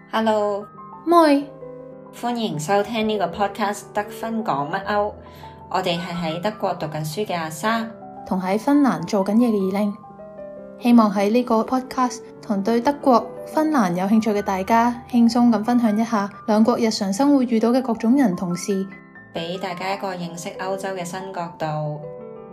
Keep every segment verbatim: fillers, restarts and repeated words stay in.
Hello， 妹， 歡迎收聽呢個 podcast 得分講乜歐。我哋係喺德國讀緊書嘅阿莎， 同喺芬蘭做緊嘢嘅二拎，希望喺呢個 podcast 同對德國、芬蘭有興趣嘅大家，輕鬆咁分享一下兩國日常生活遇到嘅各種人同事， 俾大家一個認識歐洲嘅新角度。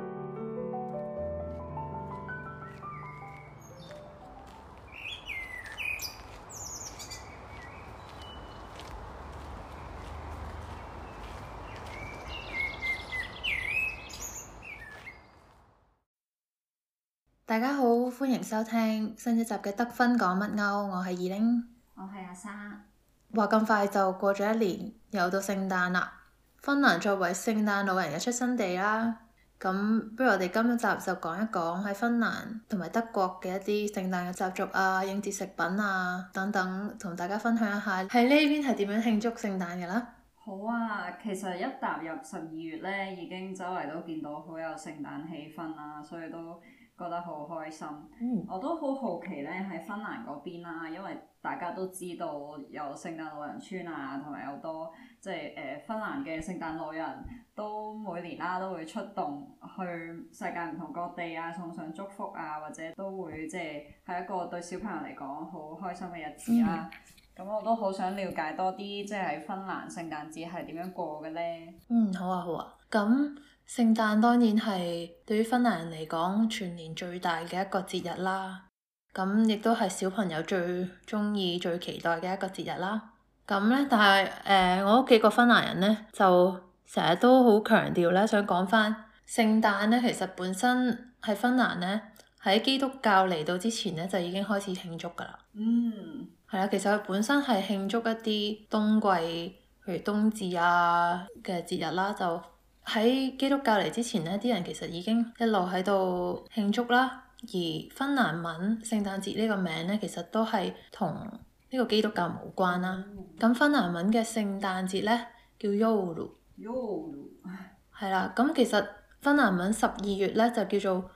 大家好，歡迎收聽新一集嘅得分講乜歐，我係二拎， 我係阿莎。 話咁快就過咗一年，又到聖誕啦。芬蘭作為聖誕老人嘅出生地啦，咁不如我哋今一集就講一講喺芬蘭同埋德國嘅一啲聖誕嘅習俗啊、應節食品啊等等，同大家分享一下喺呢邊係點樣慶祝聖誕嘅啦。 好啊，其實一踏入十二月咧，已經周圍都見到好有聖誕氣氛啦，所以都覺得好開心。 嗯、 我都好好奇咧，喺芬蘭嗰邊啦，因為大家都知道有聖誕老人村啊，同埋有多即係誒芬蘭嘅聖誕老人都每年啦都會出動去世界唔同各地啊，送上祝福啊，或者都會即係係一個對小朋友嚟講好開心嘅日子啦。咁、嗯、我都好想了解多啲，即係喺芬蘭聖誕節係點樣過嘅咧？ 嗯，好啊，好啊。咁聖誕當然係對於芬蘭人嚟講，全年最大嘅一個節日啦。咁亦都係小朋友最中意、最期待嘅一個節日啦。咁咧，但係誒、呃，我屋企個芬蘭人咧，就成日都好強調咧，想講翻聖誕咧，其實本身喺芬蘭咧，喺基督教嚟到之前咧，就已經開始慶祝噶啦。 嗯， 係啦，其實佢本身係慶祝一啲冬季，譬如冬至啊嘅節日啦，就喺基督教嚟之前咧，啲人其實已經一路喺度慶祝啦。而芬蘭文聖誕節呢個名咧，其實都係同呢個基督教無關啦。咁、嗯、芬蘭文嘅聖誕節咧叫 joulu，joulu 係啦。咁其實芬蘭文十二月咧就叫做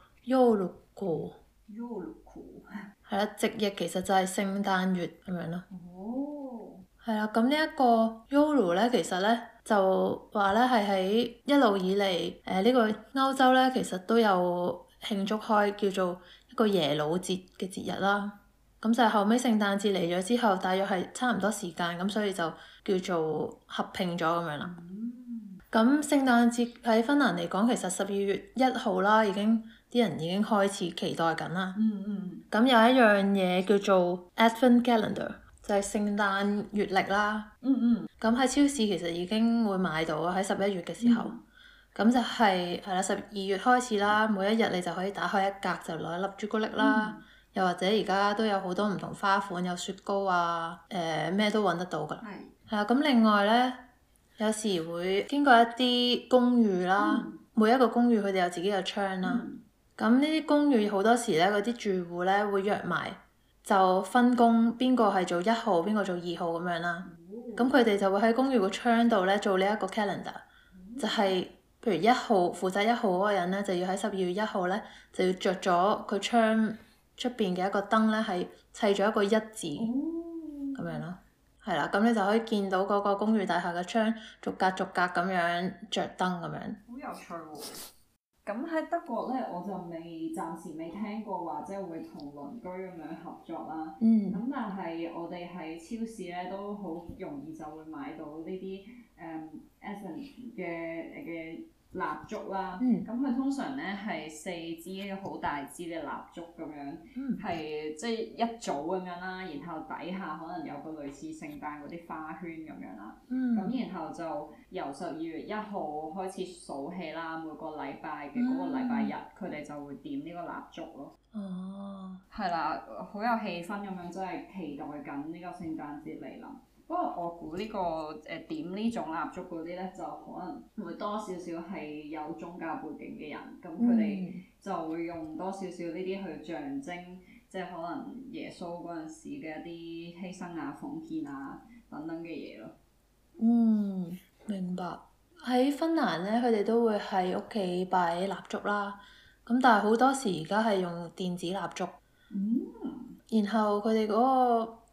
joulukuu，joulukuu 係啦，直譯其實就係聖誕月咁樣咯。 哦， 係啦，咁呢一個 joulu 咧，其實咧就話咧係喺一路以嚟誒、呃這個、呢個歐洲咧，其實都有慶祝開叫做一個耶魯節嘅節日啦。咁就係後尾聖誕節嚟咗之後，大約係差唔多時間，咁所以就叫做合併咗咁樣啦。咁、嗯、聖誕節喺芬蘭嚟講，其實十二月一號啦，已經啲人已經開始期待緊啦。 嗯嗯。 咁有一樣嘢叫做 Advent Calendar，就係聖誕月曆啦。 嗯嗯。 咁喺超市其實已經會買到喺十一月嘅時候。嗯咁就係係啦，十二月開始啦，每一日你就可以打開一格就攞一粒朱古力啦，嗯、又或者而家都有好多唔同花款，有雪糕啊，誒、呃、咩都揾得到㗎。係。係啊，咁另外咧，有時會經過一啲公寓啦，嗯、每一個公寓佢哋有自己嘅窗啦。咁呢啲公寓好多時咧，嗰啲住戶咧會約埋，就分工邊個係做一號，邊個做二號咁樣啦。咁佢哋就會喺公寓個窗度咧做呢一個 calendar，嗯、就係、是。譬如一號負責一號嗰個人咧，就要喺十二月一號咧，就要着咗佢窗出邊嘅一個燈咧，係砌咗一個一字咁、哦、樣咯，係啦，咁你就可以見到嗰個公寓大廈嘅窗逐格逐格咁樣着燈咁樣。 好有趣喎！咁喺德國咧，我就未暫時未聽過話即係會同鄰居咁樣合作啦。嗯。咁但係我哋喺超市咧都好容易就會買到呢啲誒 Advent 嘅嘅蠟燭啦。嗯。咁佢通常咧係四支好大支嘅蠟燭咁樣，係、嗯、即係一組咁樣啦。然後底下可能有個類似聖誕嗰啲花圈咁樣啦。嗯。咁然後就由十二月一號開始數起啦，每個禮拜嘅嗰個禮拜日，佢哋、嗯、就會點呢個蠟燭咯。哦。係啦，好有氣氛咁樣，真係期待緊呢個聖誕節嚟臨。不過我估呢、這個誒、呃、點呢種蠟燭嗰啲咧，就可能會多少少係有宗教背景嘅人，咁佢哋就會用多少少呢啲去象徵，即係可能耶穌嗰陣時嘅一啲犧牲啊、奉獻啊等等嘅嘢咯。 嗯，明白。喺芬蘭咧，佢哋都會喺屋企擺蠟燭啦。咁但係好多時而家係用電子蠟燭。嗯。然後佢哋嗰個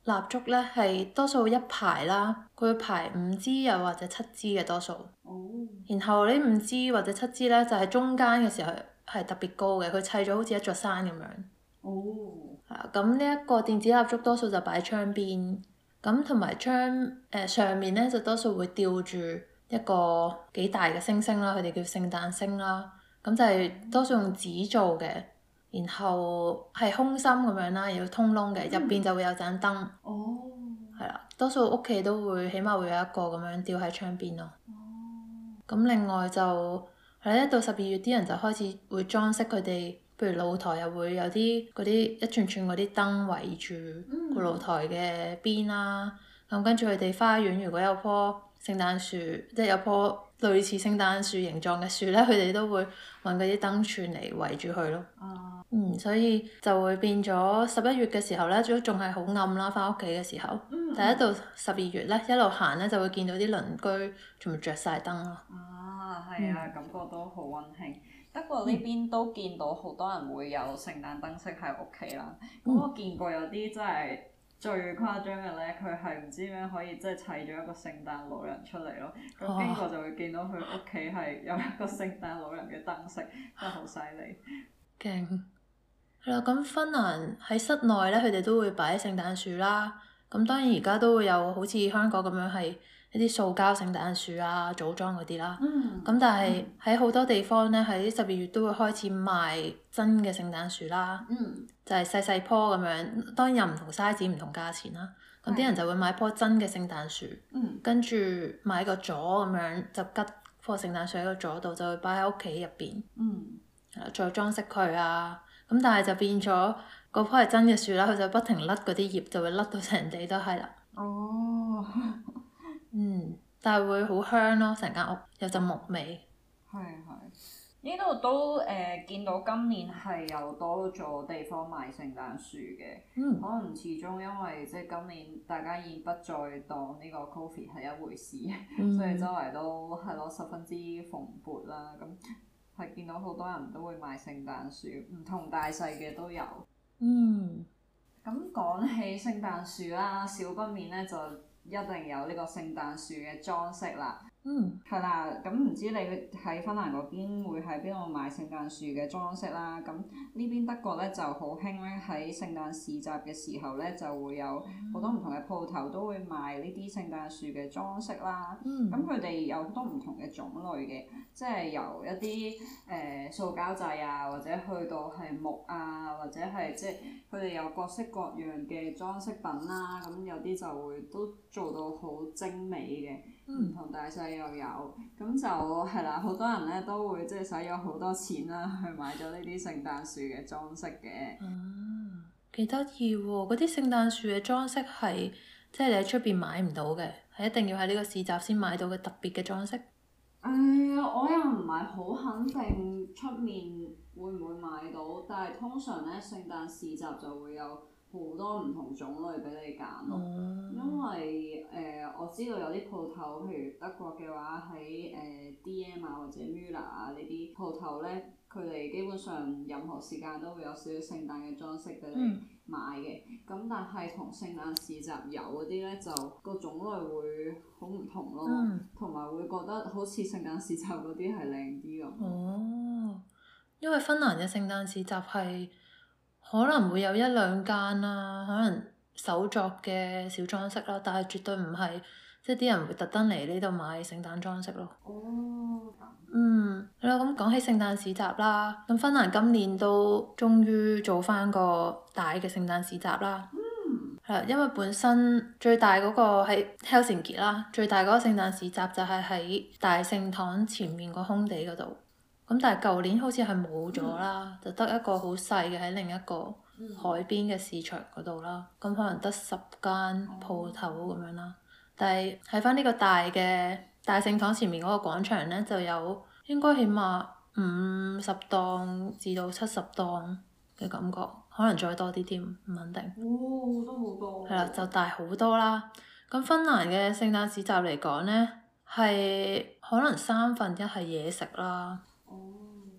蠟燭咧係多數一排啦，佢會排五支又或者七支嘅多數。 哦。 然後呢五支或者七支咧就係、是、中間嘅時候係特別高嘅，佢砌咗好似一座山咁樣。 哦。 係啊，咁呢一個電子蠟燭多數就擺喺窗邊，咁同埋窗誒、呃、上面咧就多數會吊住一個幾大嘅星星啦，佢哋叫聖誕星啦。咁就係多數用紙做嘅，然後係空心咁樣啦，要通窿嘅，入邊就會有盞燈。 哦。 係啦，多數屋企都會起碼會有一個咁樣吊喺窗邊咯。 哦。 咁另外就係咧，一到十二月啲人就開始會裝飾佢哋，譬如露台又會有啲嗰啲一串串嗰啲燈圍住個露台嘅邊啦。咁跟住佢哋花園如果有棵聖誕樹，即係有棵類似聖誕樹形狀嘅樹咧，佢哋都會揾嗰啲燈串嚟圍住佢咯。 啊。 嗯，所以就會變咗十一月嘅時候咧，都仲係好暗啦。翻屋企嘅時候， 嗯、 但係一到十二月咧，一路行咧就會見到啲鄰居全部着晒燈咯。 啊，係啊，嗯、感覺都好溫馨。德國呢邊都見到好多人會有聖誕燈飾喺屋企啦。咁、嗯、我見過有啲真係最誇張嘅咧，佢係唔知點樣可以即係砌咗一個聖誕老人出嚟咯。咁經過就會見到佢屋企係有一個聖誕老人嘅燈飾，真係好犀利。 勁！係啦，咁芬蘭喺室內咧，佢哋都會擺聖誕樹啦。咁當然而家都會有好似香港咁樣係一啲塑膠聖誕樹啊、組裝嗰啲啦。 嗯。 咁但係喺好多地方咧，喺十二月都會開始賣真嘅聖誕樹啦。 嗯。就係細細棵咁樣，當然有唔同 size、唔同價錢啦。咁啲人就會買棵真嘅聖誕樹， 嗯、 跟住買個座咁樣就吉棵聖誕樹喺個座度，就會擺喺屋企入邊。 嗯。 再裝飾佢啊！咁但係就變咗嗰棵係真嘅樹啦，佢就不停甩嗰啲葉，就會甩到成地都係啦。 哦。 嗯，但係會好香咯，成間屋有陣木味。 係係。呢度都誒、呃、見到今年係有多咗地方賣聖誕樹嘅， 嗯、 可能始終因為即係今年大家已經不再當呢個 Covid 係一回事，嗯、所以周圍都係咯十分之蓬勃啦。咁係見到好多人都會賣聖誕樹，唔同大細嘅都有。嗯。咁講起聖誕樹啦，少不免咧就一定有呢個聖誕樹嘅裝飾啦。 嗯。 係啦，咁唔知你喺芬蘭嗰邊會喺邊度買聖誕樹嘅裝飾啦？咁呢邊德國咧就好興咧，喺聖誕市集嘅時候咧就會有好多唔同嘅鋪頭都會賣呢啲聖誕樹嘅裝飾啦。咁佢哋有好多唔同嘅種類嘅，即係由一啲誒、呃、塑膠製啊，或者去到係木啊，或者係即係佢哋有各式各樣嘅裝飾品啦。咁有啲就會都做到好精美嘅，唔、嗯、同大細又有。咁就係啦，好多人咧都會即係使咗好多錢啦，去買咗呢啲聖誕樹嘅裝飾嘅。 嗯，幾得意喎！嗰啲聖誕樹嘅裝飾係即係你喺出邊買唔到嘅，係一定要喺呢個市集先買到嘅特別嘅裝飾。誒、 哎，我又唔係好肯定出面會唔會買到，但係通常咧聖誕市集就會有好多唔同種類俾你揀咯。嗯、因為誒、呃、我知道有啲鋪頭，譬如德國嘅話喺誒、呃、D M 啊或者 Müller 啊呢啲鋪頭咧，佢哋基本上任何時間都會有少少聖誕嘅裝飾俾你買嘅。咁、嗯、但係同聖誕市集有嗰啲咧，就個種類會好唔同咯，同埋、嗯、會覺得好似聖誕市集嗰啲係靚啲咁。 哦，因為芬蘭嘅聖誕市集係可能會有一兩間啦，可能手作嘅小裝飾啦，但係絕對唔係即係啲人會特登嚟呢度買聖誕裝飾咯。 哦。 嗯，係啦，咁講起聖誕市集啦，咁芬蘭今年都終於做翻個大嘅聖誕市集啦。 嗯。 係啦，因為本身最大嗰個喺 Helsinki 啦，最大嗰個聖誕市集就係喺大聖堂前面個空地嗰度。咁但係舊年好似係冇咗啦，嗯、就得一個好細嘅喺另一個海邊嘅市場嗰度啦。咁、嗯、可能得十間鋪頭咁樣啦。但係喺翻呢個大嘅大聖堂前面嗰個廣場咧，就有應該起碼五十檔至到七十檔嘅感覺，可能再多啲添，唔肯定。 哦，都好多。係啦，就大好多啦。咁芬蘭嘅聖誕市集嚟講咧，係可能三分一係嘢食啦。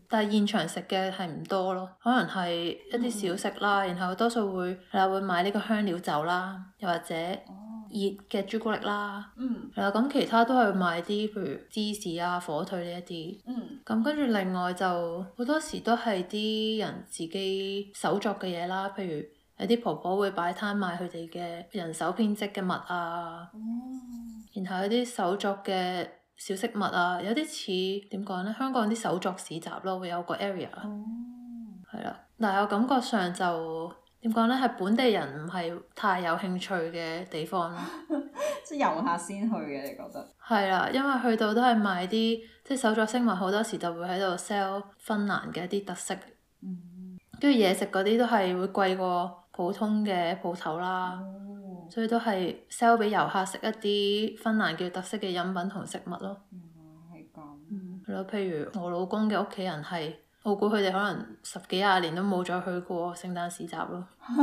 但係現場食嘅係唔多咯，可能係一啲小食啦，嗯、然後多數會係啦會買呢個香料酒啦，又或者熱嘅朱古力啦，係啦，咁其他都係買啲譬如芝士啊、火腿呢一啲，咁跟住另外就好多時都係啲人自己手作嘅嘢啦，譬如有啲婆婆會擺攤賣佢哋嘅人手編織嘅襪啊，嗯、然後有啲手作嘅小飾物啊，有啲似點講呢？香港啲手作市集咯，會有個 area，係啦、嗯，但係我感覺上就點講呢？係本地人唔係太有興趣嘅地方咯， 即係遊客先去嘅，你覺得？ 係啦，因為去到都係賣啲即係手作飾物，好多時就會喺度 sell 芬蘭嘅一啲特色，跟住嘢食嗰啲都係會貴過普通嘅鋪頭啦，哦、所以都係 sell 俾遊客食一啲芬蘭嘅特色嘅飲品同食物咯。 嗯，係咁。 嗯，係咯，譬如我老公嘅屋企人係，我估佢哋可能十幾廿年都冇再去過聖誕市集咯。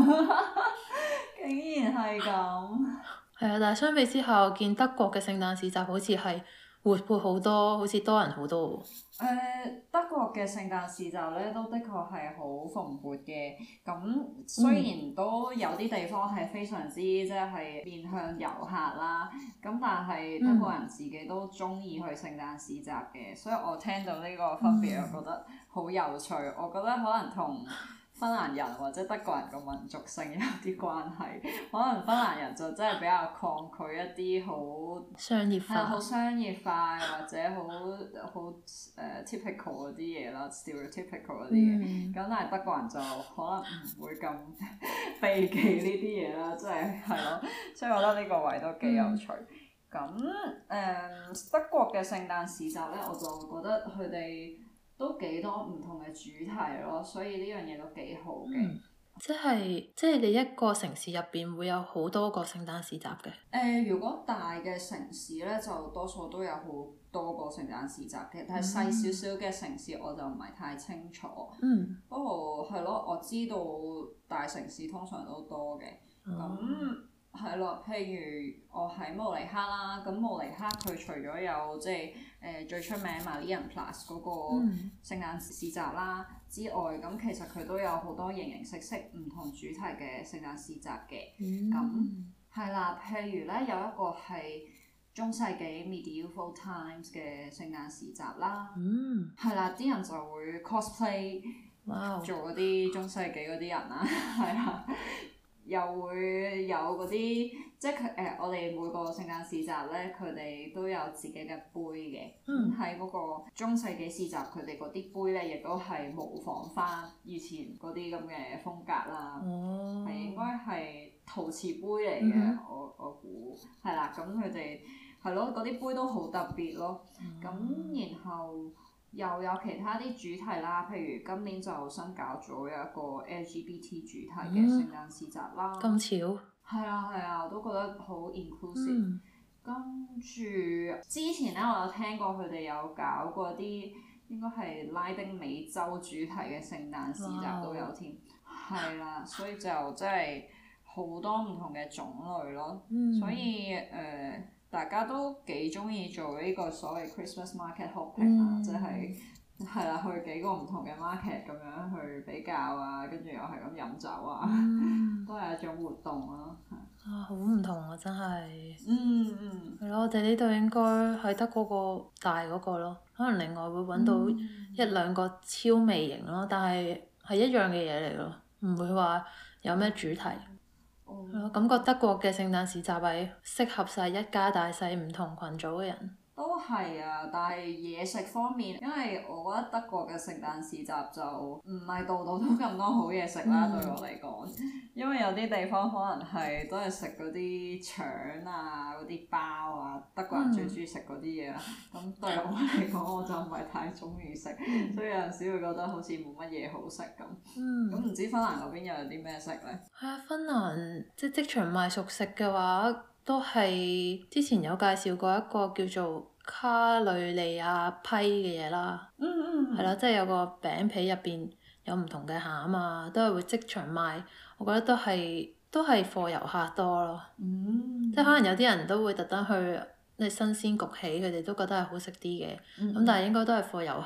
竟然係咁。 係啊，但係相比之下，我見德國嘅聖誕市集好似係活潑好多，好似多人好多喎。 誒、呃，德國嘅聖誕市集咧，都的確係好蓬勃嘅。咁雖然都有啲地方係非常之即係面向遊客啦，咁但係德國人自己都中意去聖誕市集嘅，所以我聽到呢個分別，我覺得好有趣。我覺得可能同芬蘭人或者德國人個民族性有啲關係，可能芬蘭人就真係比較抗拒一啲好商業化， 好商業化或者好好誒 typical 嗰啲嘢啦 ，stereotypical 嗰啲嘢。咁、嗯、但係德國人就可能唔會咁避忌呢啲嘢啦，即係係咯，所以我覺得呢個位都幾有趣。咁誒、嗯、德國嘅聖誕市集咧，我就覺得佢哋都幾多唔同嘅主題咯，所以呢樣嘢都幾好嘅、嗯。 即係即係你一個城市入邊會有好多個聖誕市集嘅。誒、 呃，如果大嘅城市咧，就多數都有好多個聖誕市集嘅，但係細少少嘅城市我就唔係太清楚。嗯。不過係咯，我知道大城市通常都多嘅。咁、嗯。係咯，譬如我喺慕尼黑啦，咁慕尼黑佢除咗有即係誒最出名 Marienplatz 嗰個聖誕市集啦之外，咁其實佢都有好多形形色色唔同主題嘅聖誕市集嘅。咁係啦，譬如咧有一個係中世紀 Medieval Times 嘅聖誕市集啦。嗯。係啦，啲人就會 cosplay 做嗰啲中世紀嗰啲人啦，係啦。又會有嗰啲，即係佢誒，我哋每個聖誕市集咧，佢哋都有自己嘅杯嘅。咁喺嗰個中世紀市集，佢哋嗰啲杯咧，亦都係模仿翻以前嗰啲咁嘅風格啦。哦，係應該係陶瓷杯嚟嘅、嗯，我我估係啦。咁佢哋係咯，嗰啲杯都好特別咯。咁、嗯、然後。又有其他啲主題啦，譬如今年就新搞咗有一個 L G B T 主題嘅聖誕市集啦。咁、嗯、巧？係啊係啊，我都覺得好 inclusive。跟住、嗯、之前咧，我有聽過佢哋有搞過啲應該係拉丁美洲主題嘅聖誕市集都有添。係啦、啊，所以就真係好多唔同嘅種類咯。嗯、所以誒。呃大家都幾中意做呢個所謂 Christmas market hopping 啊、嗯，即係係啦，去幾個唔同嘅 market 咁樣去比較啊，跟住又係咁飲酒啊，嗯、都係一種活動咯。 啊，好唔同啊！真係。 嗯嗯。係咯，我哋呢度應該係得嗰個大嗰個咯，可能另外會揾到一兩個超微型咯，但係係一樣嘅嘢嚟咯，唔會話有咩主題。我、嗯、感覺德國嘅聖誕市集係適合晒一家大細唔同群組嘅人。 都係啊，但係嘢食方面，因為我覺得德國嘅聖誕市集就唔係度度都咁多好嘢食啦，嗯、對我嚟講。因為有啲地方可能係都係食嗰啲腸啊、嗰啲包啊，德國人最中意食嗰啲嘢啦。咁、嗯、對我嚟講，我就唔係太中意食，嗯、所以有陣時會覺得好似冇乜嘢好食咁。咁唔、嗯、知芬蘭嗰邊又有啲咩食咧？ 係啊，芬蘭即係即場賣熟食嘅話。都係之前有介紹過一個叫做卡雷利亞批嘅嘢啦，係啦、嗯嗯，即係有個餅皮入邊有唔同嘅餡啊，都係會即場賣。我覺得都係都係貨遊客多咯，嗯、即係可能有啲人都會特登去，即係新鮮焗起，佢哋都覺得係好食啲嘅。咁、嗯、但係應該都係貨遊客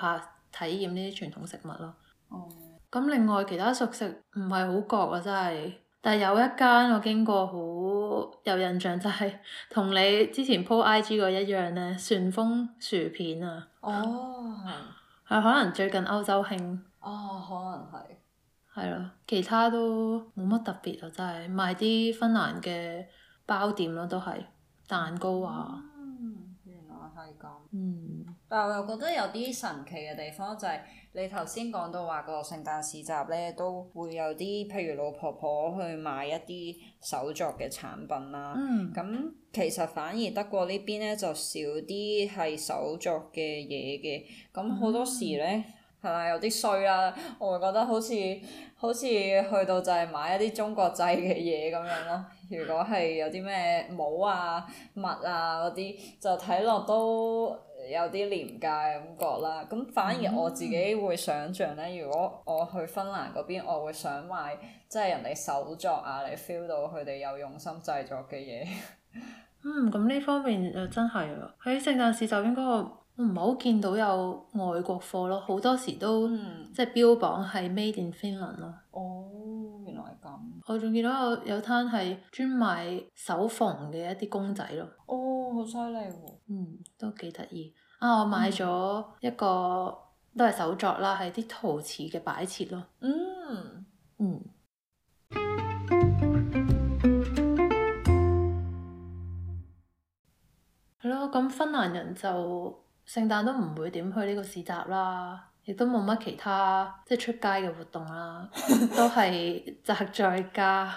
體驗呢啲傳統食物咯。 哦。 咁另外其他熟食唔係好覺啊，真係。但係有一間我經過好有印象，就係同你之前 po I G 嗰一樣咧，旋風薯片啊。 哦，係。 係可能最近歐洲興。 哦，可能係。 係咯，其他都冇乜特別啊，真係賣啲芬蘭嘅包點咯，都係蛋糕啊。 嗯，原來係咁。 嗯。 但係我又覺得有啲神奇嘅地方就係、是、你頭先講到話個聖誕市集咧，都會有啲譬如老婆婆去買一啲手作嘅產品啦。 嗯。 咁其實反而德國呢邊咧就少啲係手作嘅嘢嘅，咁好多時咧係咪有啲衰啦？我會覺得好似好似去到就係買一啲中國製嘅嘢咁樣咯。如果係有啲咩帽啊、襪啊嗰啲，就睇落都有啲廉價嘅感覺啦。咁反而我自己會想像咧，如果我去芬蘭嗰邊，我會想買即係人哋手作啊，你 feel 到佢哋有用心製作嘅嘢。 嗯，咁呢方面就真係啊！喺聖誕市集應該我唔係好見到有外國貨咯，好多時都、嗯、即係標榜係 Made in Finland 咯。 哦，原來係咁。 我仲見到有有攤係專賣手縫嘅一啲公仔咯。 哦，好犀利喎！ 嗯，都幾得意啊！我買咗一個、嗯、都係手作啦，係啲陶瓷嘅擺設咯。 嗯嗯。係咯，咁芬蘭人就聖誕都唔會點去呢個市集啦，亦都冇乜其他即係出街嘅活動啦，都係宅在家。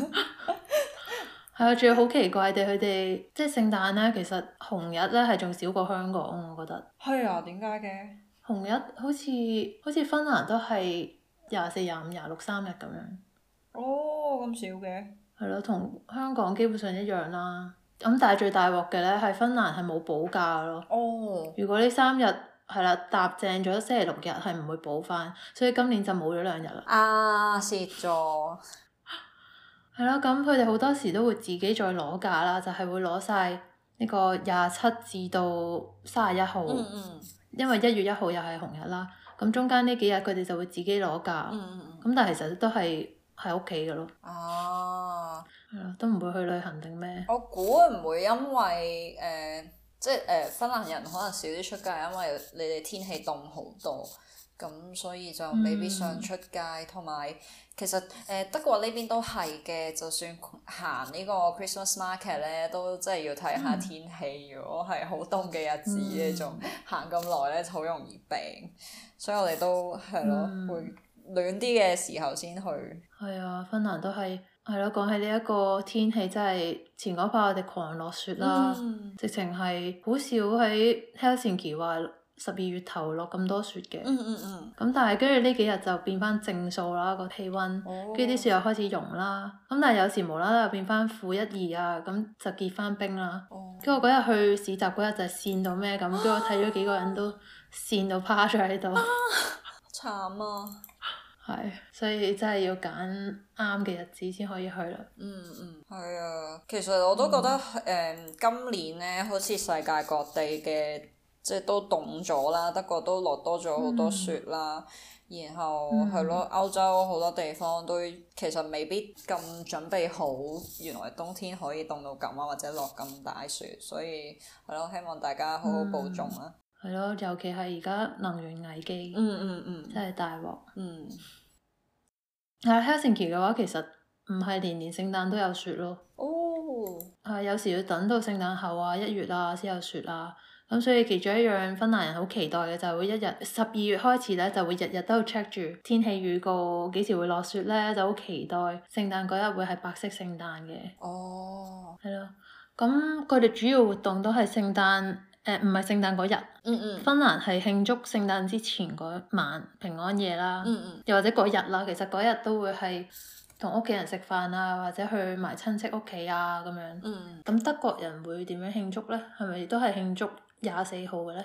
係啊，仲要好奇怪地，佢哋即係聖誕咧，其實紅日咧係仲少過香港，我覺得。 係啊，點解嘅？ 紅日好似好似芬蘭都係廿四、廿五、廿六三日咁樣。 哦，咁少嘅。係咯，同香港基本上一樣啦。咁但係最大鑊嘅咧，係芬蘭係冇補假咯。 哦。 如果呢三日係啦搭正咗星期六日，係唔會補翻，所以今年就冇咗兩日啦。 啊！蝕咗。 係咯，咁佢哋好多時都會自己再攞假啦，就係、是、會攞晒呢個廿七至到三十一號。嗯嗯。因為一月一號又係紅日啦，咁中間呢幾日佢哋就會自己攞假。嗯嗯嗯。咁但係其實都係喺屋企嘅咯。哦。係咯，都唔會去旅行定咩？ 我估會唔會因為誒、呃，即係誒、呃、芬蘭人可能少啲出街，因為你哋天氣凍好多，咁所以就未必想出街。同埋、嗯、其實誒、呃、德國呢邊都係嘅，就算行呢個 Christmas market 咧，都真係要睇下天氣。嗯、如果係好凍嘅日子咧，仲、嗯、行咁耐咧，就好容易病。所以我哋都係咯，嗯、會暖啲嘅時候先去。 係啊，芬蘭都係。係咯，講起呢一個天氣，真係前嗰排我哋狂落雪啦，嗯、直情係好少喺 Helsinki 話十二月頭落咁多雪嘅。嗯嗯嗯。咁但係跟住呢幾日就變翻正數啦，個氣温，跟住啲雪又開始融啦。咁但係有時無啦啦又變翻負一二啊，咁就結翻冰啦。跟住、哦、我嗰日去市集嗰日就係跣到咩咁，跟住我睇咗幾個人都跣到趴咗喺度。 慘啊！ 係，所以真係要揀啱嘅日子先可以去啦。 嗯嗯，係啊，其實我都覺得誒、嗯嗯、今年咧，好似世界各地嘅即係都凍咗啦，德國都落多咗好多雪啦，嗯、然後係咯、嗯，歐洲好多地方都其實未必咁準備好，原來冬天可以凍到咁啊，或者落咁大雪，所以係咯，希望大家好好保重啦。 係咯，尤其係而家能源危機， 嗯嗯嗯， 真係大鑊。 嗯。 喺 Helsinki 嘅話，其實唔係年年聖誕都有雪咯。 哦。 係有時要等到聖誕後啊，一月啊先有雪啊。咁所以其中一樣芬蘭人好期待嘅就係會一日十二月開始咧，就會日日都 check 住天氣預告幾時會落雪咧，就好期待聖誕嗰日會係白色聖誕嘅。 哦。係咯，咁佢哋主要活動都係聖誕。誒唔係聖誕嗰日，嗯嗯，芬蘭係慶祝聖誕之前嗰晚平安夜啦，嗯嗯，又或者嗰日啦，其實嗰日都會係同屋企人食飯啊，或者去埋親戚屋企啊咁樣。嗯，咁德國人會點樣慶祝咧？係咪都係慶祝廿四號嘅咧？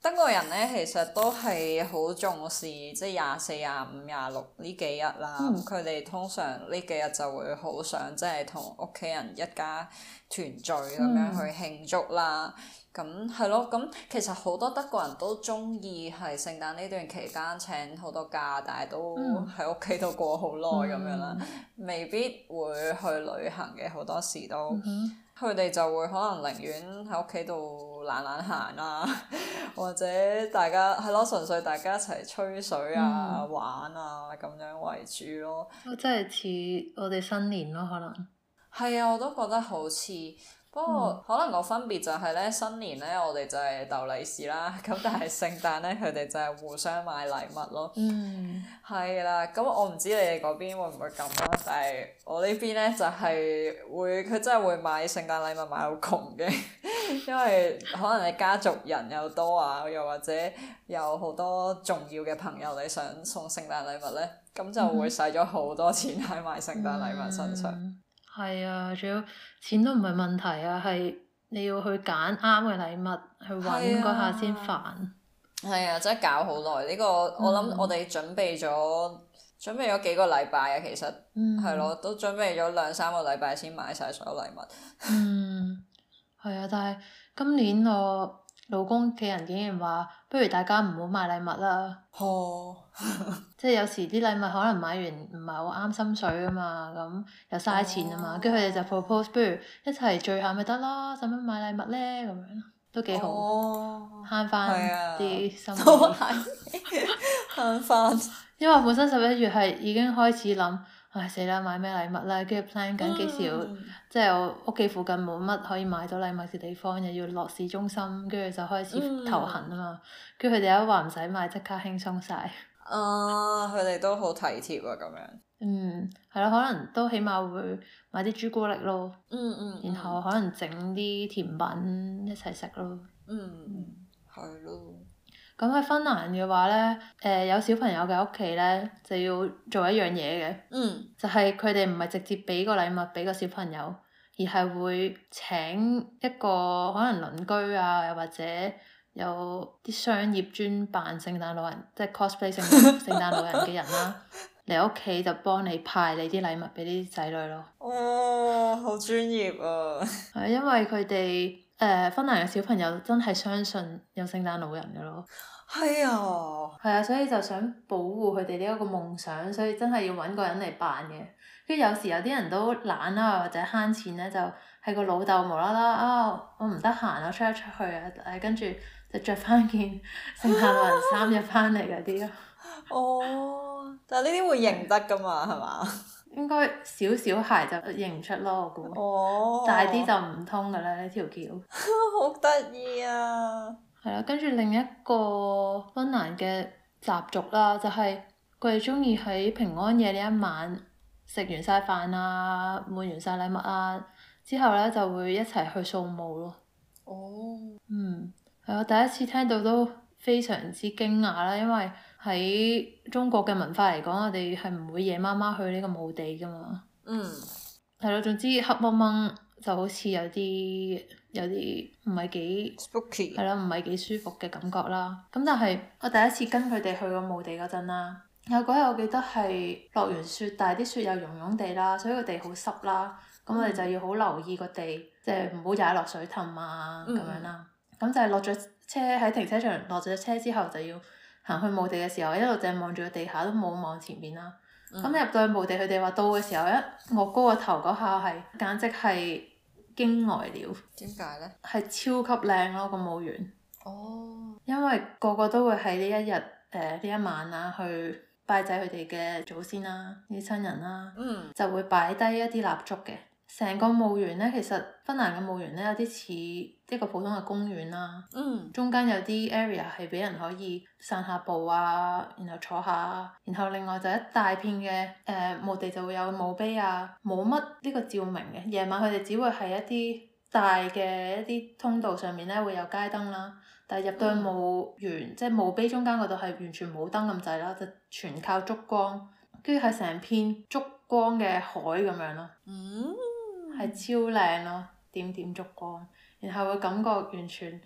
德國人咧其實都係好重視即係廿四、廿五、廿六呢幾日啦。佢哋、嗯、通常呢幾日就會好想即係同屋企人一家團聚咁樣去慶祝啦。咁係咯，咁其實好多德國人都中意係聖誕呢段期間請好多假，但係都喺屋企度過好耐咁樣啦，嗯、未必會去旅行嘅，好多時都。佢哋、嗯、就會可能寧願喺屋企度懶懶行啊，或者大家係咯，純粹大家一齊吹水啊、嗯、玩啊咁樣為主咯。 真係似我哋新年咯，可能。 係啊，我都覺得好似。不過、嗯、可能個分別就係咧，新年咧我哋就係逗利是啦，咁但係聖誕咧佢哋就係互相買禮物咯。嗯。係啦，咁我唔知你哋嗰邊會唔會咁啦，但係我呢邊咧就係會，佢真係會買聖誕禮物買到窮嘅，因為可能你家族人又多啊，又或者有好多重要嘅朋友你想送聖誕禮物咧，咁就會使咗好多錢喺買聖誕禮物身上。 嗯。係啊，仲有錢都唔係問題啊，係你要去揀啱嘅禮物，去揾嗰下先煩。 係啊，真係搞好耐呢個，我諗我哋準備咗、嗯、準備咗幾個禮拜啊，其實係咯、嗯，都準備咗兩三個禮拜先買晒所有禮物。嗯， 係啊，但係今年我老公嘅人竟然話，不如大家唔好買禮物啦。哦，即係有時啲禮物可能買完唔係好啱心水啊嘛，咁又嘥錢啊嘛，跟住佢哋就 propose，不如一齊聚下咪得咯，使乜買禮物咧？咁樣都幾好，慳翻啲心意。都係慳翻。因為本身十一月係已經開始諗。唉死啦！買咩禮物啦？跟住 plan 緊幾時要，嗯、即係我屋企附近冇乜可以買到禮物嘅地方，又要落市中心，跟住就開始頭痕啊嘛。跟住佢哋一話唔使買，即刻輕鬆晒。 啊！佢哋都好體貼啊，咁樣。 嗯，係咯，可能都起碼會買啲朱古力咯。嗯嗯。然後可能整啲甜品一齊食咯。 嗯，係咯。 咁喺芬蘭嘅話咧，誒、呃、有小朋友嘅屋企咧就要做一樣嘢嘅，嗯、就係佢哋唔係直接俾個禮物俾個小朋友，而係會請一個可能鄰居啊，又或者有啲商業專扮聖誕老人，即係 cosplay 聖誕聖誕老人嘅人啦，嚟屋企就幫你派你啲禮物俾啲仔女咯。 哦，好專業啊！ 係因為佢哋。誒、呃，芬蘭嘅小朋友真係相信有聖誕老人嘅咯。 係啊。 係啊，所以就想保護佢哋呢一個夢想，所以真係要揾個人嚟扮嘅。跟住有時有啲人都懶啦，或者慳錢咧，就係個老豆無啦啦啊，我唔得閒啊，出一出去啊，誒跟住就着翻件聖誕老人衫入翻嚟嗰啲咯。 哦，但係呢啲會認得噶嘛，係嘛？ 應該小小孩就認唔出咯，我估。哦。大啲就唔通噶啦，呢條橋。 好得意啊！ 係啦，跟住另一個芬蘭嘅習俗啦，就係佢哋中意喺平安夜呢一晚食完晒飯啊，換完晒禮物啊，之後咧就會一齊去掃墓咯。哦。嗯，係我第一次聽到都非常之驚訝啦，因為喺中國嘅文化嚟講，我哋係唔會夜媽媽去呢個墓地噶嘛。嗯。係咯，總之黑掹掹就好似有啲有啲唔係幾 spooky，係咯，唔係幾舒服嘅感覺啦。咁但係我第一次跟佢哋去個墓地嗰陣啦，有嗰日我記得係落完雪，但係啲雪又融融地啦，所以個地好濕啦。咁、嗯、我哋就要好留意個地，即係唔好踩落水氹啊咁、嗯、樣啦。咁就係落咗車喺停車場落咗車之後就要行去墓地嘅時候，一路淨係望住個地下都冇望前面啦。咁、嗯、入到去墓地，佢哋話到嘅時候，一我高個頭嗰下係簡直係驚呆了。 點解呢？ 係超級靚咯，個墓園。哦。因為個個都會喺呢一日誒呢一晚啊，去拜祭佢哋嘅祖先啦、啲親人啦。嗯。就會擺低一啲蠟燭嘅。成個墓園咧，其實芬蘭嘅墓園咧有啲似一個普通嘅公園啦。嗯。中間有啲 area 係俾人可以散下步啊，然後坐下，然後另外就一大片嘅誒、呃、墓地就會有墓碑啊，冇乜呢個照明嘅。夜晚佢哋只會係一啲大嘅一啲通道上面咧會有街燈啦，但係入到去墓園，嗯、即係墓碑中間嗰度係完全冇燈咁滯啦，就全靠燭光，跟住係成片燭光嘅海咁樣咯。嗯。係超靚咯，點點燭光，然後會感覺完全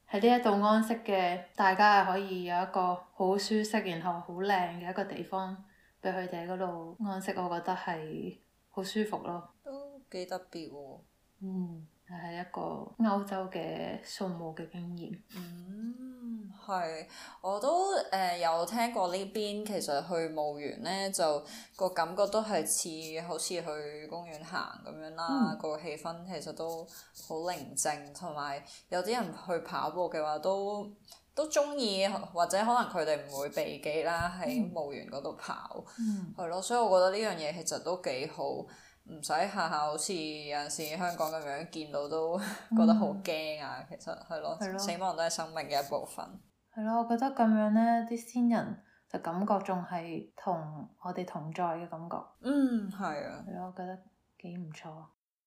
喺呢一度安息嘅，大家係可以有一個好舒適然後好靚嘅一個地方俾佢哋喺嗰度安息，我覺得係好舒服咯。 都幾特別喎。 嗯，係一個歐洲嘅掃墓嘅經驗。 嗯，係，我都誒、呃、有聽過呢邊，其實去墓園咧就個感覺都係似好似去公園行咁樣啦，嗯、個氣氛其實都好寧靜，同埋有啲人去跑步嘅話都都中意，或者可能佢哋唔會避忌啦，喺墓園嗰度跑，係咯、嗯，所以我覺得呢樣嘢其實都幾好。唔使下下好似有陣時香港咁樣見到都覺得好驚啊！嗯、其實係咯， 咯死亡都係生命嘅一部分。係咯，我覺得咁樣呢啲先人就感覺仲係同我哋同在嘅感覺。 嗯，係啊。 係咯，我覺得幾唔錯。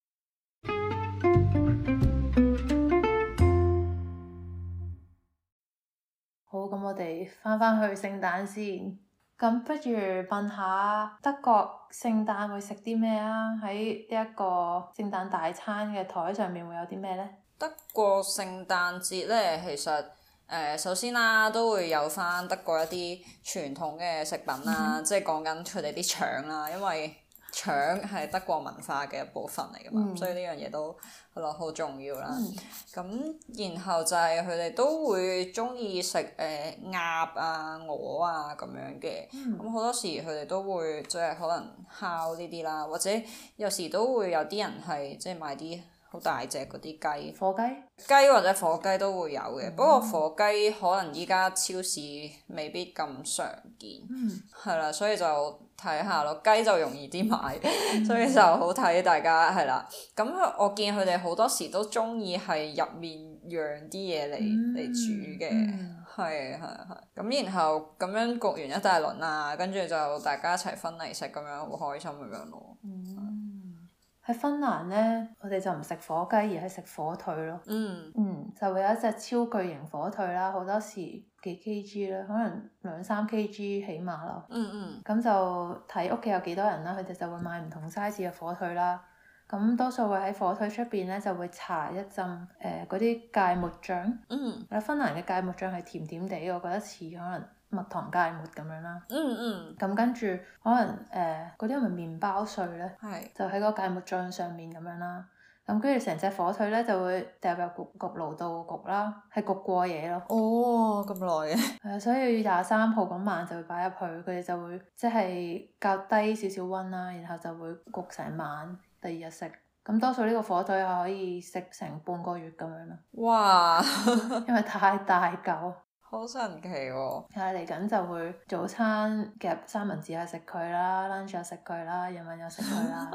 好，咁我哋翻返去聖誕先。咁不如問下德國聖誕會食啲咩啊？喺呢一個聖誕大餐嘅台上面會有啲咩呢？ 德國聖誕節咧，其實誒、呃、首先啦，都會有返德國一啲傳統嘅食品啦，嗯、即係講緊佢哋啲腸啦，因為腸係德國文化嘅一部分嚟㗎嘛，嗯、所以呢樣嘢都係咯好重要啦。咁、嗯、然後就係佢哋都會鍾意食誒鴨啊、鵝啊咁樣嘅，咁好、嗯、多時佢哋都會即係可能烤呢啲啦，或者有時都會有啲人係即係買啲好大隻嗰啲雞， 火雞， 雞或者火雞都會有嘅，嗯、不過火雞可能依家超市未必咁常見，係啦、嗯，所以就睇下咯。雞就容易啲買，嗯、所以就好睇大家係啦。咁我見佢哋好多時都中意係入面釀啲嘢嚟嚟煮嘅，係係係。咁然後咁樣焗完一大輪啊，跟住就大家一齊分嚟食，咁樣好開心咁樣咯。 嗯喺芬蘭呢，我哋就唔食火雞，而係食火腿咯。嗯。嗯，就會有一隻超巨型火腿啦，好多時幾 kg 啦，可能兩三 kg 起碼咯。嗯嗯。咁就睇屋企有幾多人啦，佢哋就會買唔同 size 嘅火腿啦。咁多數會喺火腿出邊呢，就會搽一浸誒嗰啲芥末醬。嗯。喺芬蘭嘅芥末醬係甜甜地，我覺得似可能蜜糖芥末咁樣啦，嗯嗯，咁跟住可能誒嗰啲係咪麵包碎咧？係是，就喺個芥末醬上面咁樣啦，咁跟住成隻火腿咧就會掉入焗焗爐度焗啦，係焗過夜咯。 哦，咁耐嘅。 係啊，所以廿三號嗰晚就會擺入去，佢哋就會即係較低少少溫啦，然後就會焗成晚，第二日食。咁多數呢個火腿係可以食成半個月咁樣咯。哇！因為太大嚿。 好神奇喎、哦！ 係嚟緊就會早餐夾三文治又食佢啦 lunch 又食佢啦，夜晚又食佢啦。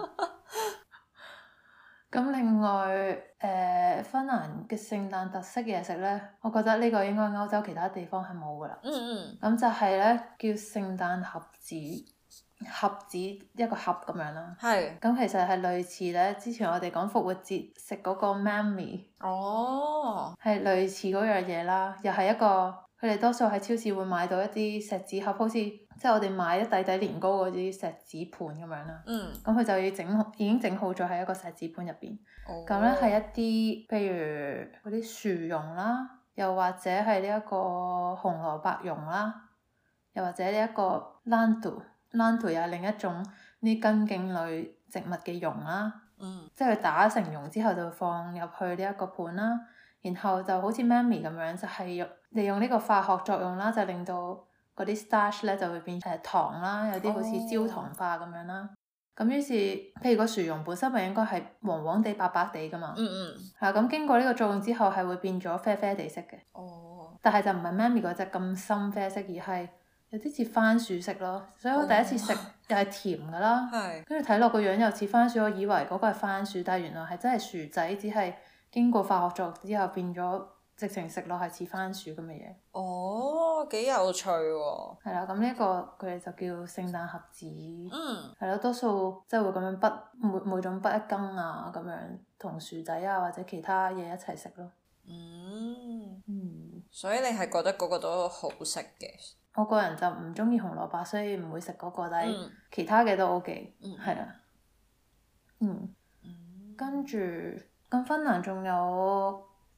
咁另外誒、呃，芬蘭嘅聖誕特色嘢食呢，我覺得呢個應該歐洲其他地方係冇㗎啦。嗯嗯。咁就係呢，叫聖誕盒子，盒子一個盒咁樣啦。係是。咁其實係類似呢，之前我哋講復活節食嗰個媽咪。哦。係類似嗰樣嘢啦，又係一個。佢哋多數喺超市會買到一啲錫紙盒，好似即係我哋買一底底年糕嗰啲錫紙盤咁樣啦。嗯。咁佢就要整好，已經整好咗喺一個錫紙盤入邊。哦。咁咧係一啲，譬如嗰啲薯蓉啦，又或者係呢一個紅蘿蔔蓉啦，又或者呢一個蘭圖，蘭圖又係另一種呢根莖類植物嘅蓉啦。嗯。即係佢打成蓉之後就放入去呢一個盤啦，然後就好似媽咪咁樣，就係用。利用呢個化學作用啦，就令到嗰啲 starch 咧就會變成糖啦，有啲好似焦糖化咁樣啦。咁、oh. 於是，譬如個薯蓉本身咪應該係黃黃地、白白地噶嘛。嗯嗯。係啊，咁經過呢個作用之後，係會變咗啡啡地色嘅。哦。Oh. 但係就唔係媽咪嗰隻咁深啡色，而係有啲似番薯色咯。所以我第一次食又係甜噶啦。係、oh. 跟住睇落個樣又似番薯，我以為嗰個係番薯，但係原來係真係薯仔，只係經過化學作用之後變咗。直情食落係似番薯咁嘅嘢。哦，幾有趣喎！係啦，咁呢一個佢哋就叫聖誕盒子。嗯。係咯，多數即係會咁樣剝每每種剝一羹啊，咁樣同薯仔啊或者其他嘢一齊食咯。嗯。嗯。 所以你係覺得嗰個都好食嘅？ 我個人就唔中意紅蘿蔔，所以唔會食嗰個，但係其他嘅都 OK。嗯。係啦。嗯。嗯。跟住，咁芬蘭仲有。